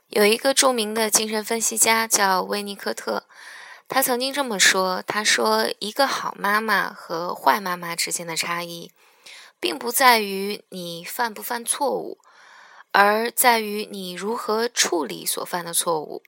有一个著名的精神分析家叫威尼科特，他曾经这么说，他说一个好妈妈和坏妈妈之间的差异，并不在于你犯不犯错误，而在于你如何处理所犯的错误。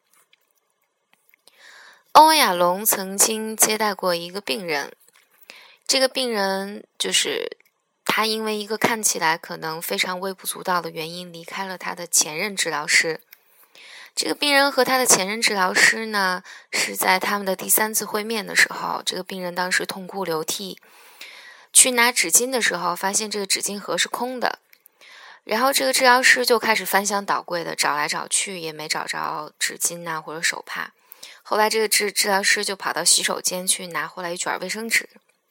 欧文亚龙曾经接待过一个病人，这个病人就是他因为一个看起来可能非常微不足道的原因离开了他的前任治疗师。这个病人和他的前任治疗师呢，是在他们的第3次会面的时候，这个病人当时痛哭流涕，去拿纸巾的时候发现这个纸巾盒是空的，然后这个治疗师就开始翻箱倒柜的找来找去，也没找着纸巾啊或者手帕。后来这个治疗师就跑到洗手间去拿回来一卷卫生纸，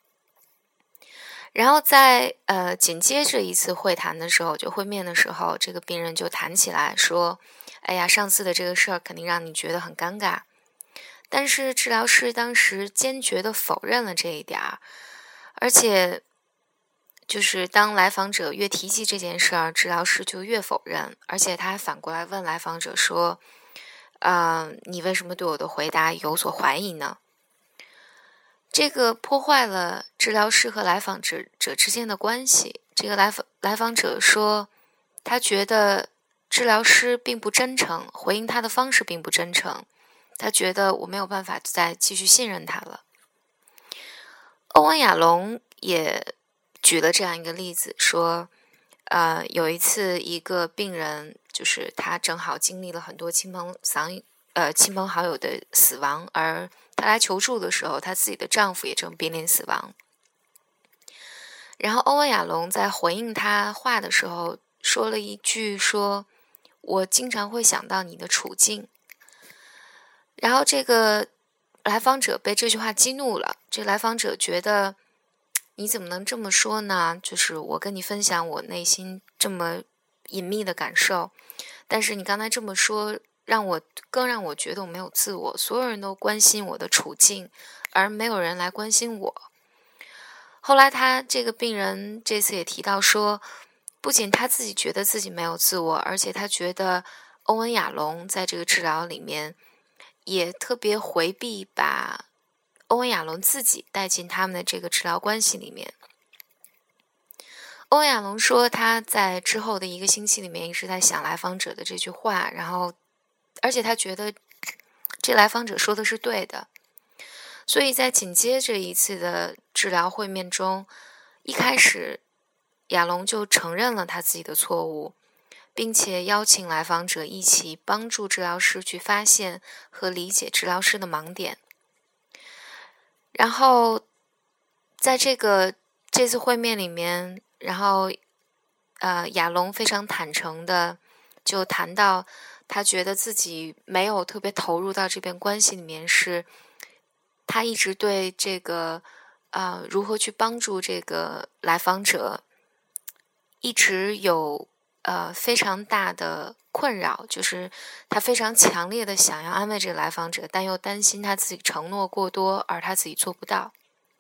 然后在紧接着一次会谈的时候，就会面的时候，这个病人就谈起来说，哎呀，上次的这个事儿肯定让你觉得很尴尬。但是治疗师当时坚决地否认了这一点儿，而且就是当来访者越提及这件事儿，治疗师就越否认，而且他还反过来问来访者说，你为什么对我的回答有所怀疑呢？这个破坏了治疗师和来访者之间的关系。这个来访者说，他觉得治疗师并不真诚，回应他的方式并不真诚，他觉得我没有办法再继续信任他了。欧文亚龙也举了这样一个例子，说，有一次一个病人，就是他正好经历了很多亲朋好友的死亡，而她来求助的时候，她自己的丈夫也正濒临死亡。然后欧文亚龙在回应她话的时候说了一句说，我经常会想到你的处境。然后这个来访者被这句话激怒了，这来访者觉得你怎么能这么说呢？就是我跟你分享我内心这么隐秘的感受，但是你刚才这么说让我觉得我没有自我，所有人都关心我的处境，而没有人来关心我。后来他这个病人这次也提到说，不仅他自己觉得自己没有自我，而且他觉得欧文亚龙在这个治疗里面也特别回避把欧文亚龙自己带进他们的这个治疗关系里面。欧文亚龙说他在之后的1个星期里面一直在想来访者的这句话，然后而且他觉得这来访者说的是对的，所以在紧接着一次的治疗会面中，一开始亚龙就承认了他自己的错误，并且邀请来访者一起帮助治疗师去发现和理解治疗师的盲点。然后在这次会面里面，然后亚龙非常坦诚的就谈到他觉得自己没有特别投入到这边关系里面，是他一直对这个如何去帮助这个来访者一直有非常大的困扰，就是他非常强烈的想要安慰这个来访者，但又担心他自己承诺过多而他自己做不到。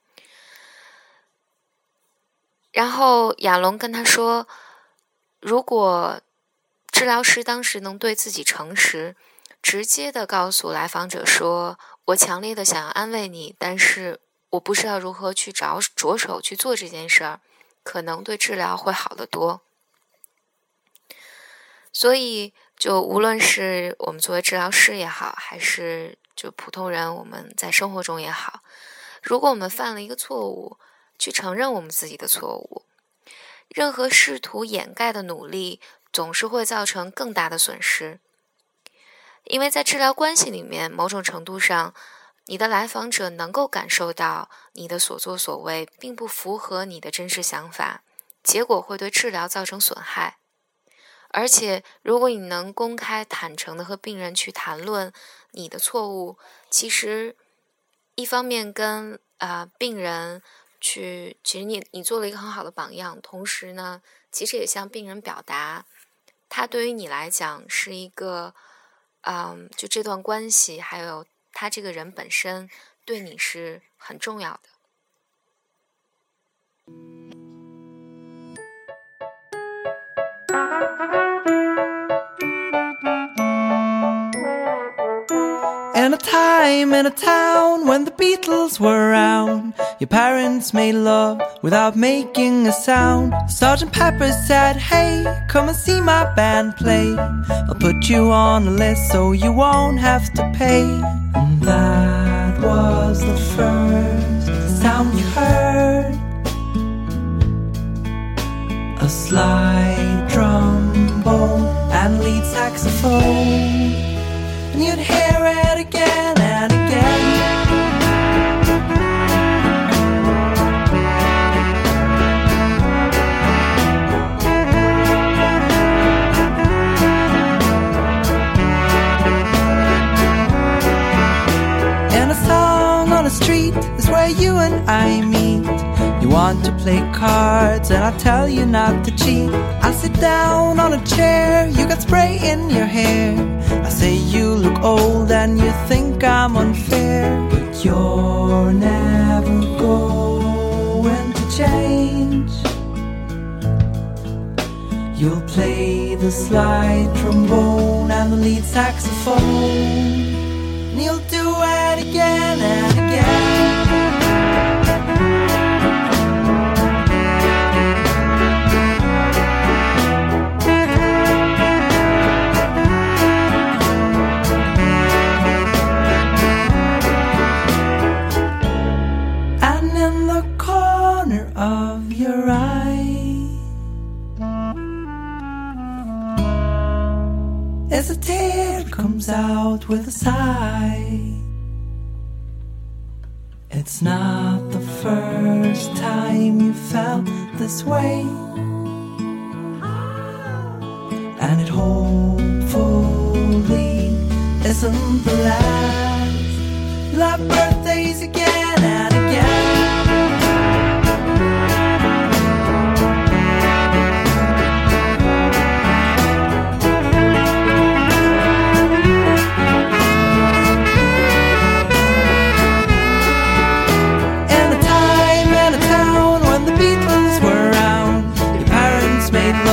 然后亚龙跟他说，如果治疗师当时能对自己诚实，直接的告诉来访者说，我强烈的想要安慰你，但是我不知道如何去着手去做这件事儿，可能对治疗会好得多。所以就无论是我们作为治疗师也好，还是就普通人我们在生活中也好，如果我们犯了一个错误，去承认我们自己的错误，任何试图掩盖的努力总是会造成更大的损失。因为在治疗关系里面，某种程度上，你的来访者能够感受到你的所作所为并不符合你的真实想法，结果会对治疗造成损害。而且如果你能公开坦诚的和病人去谈论你的错误，其实一方面跟病人其实你做了一个很好的榜样，同时呢，其实也向病人表达，他对于你来讲是一个就这段关系还有他这个人本身对你是很重要的。 In a time, in a town, when the Beatles were around, your parents made love without making a sound. Sergeant Pepper said, hey, come and see my band play. I'll put you on a list so you won't have to pay. And that was the first sound you heard, a slide trombone and lead saxophone. And you'd hear it again and again. And a song on a street is where you and I meet. You want to play cards and I tell you not to cheat. I sit down on a chair, you got spray in your hair. I say you look old and you think I'm unfair. But you're never going to change. You'll play the slide trombone and the lead saxophone, and you'll do it again and again. Of your eye as a tear comes out with a sigh. It's not the first time you felt this way, and it hopefully isn't the last. You'll have birthdays again and again. Made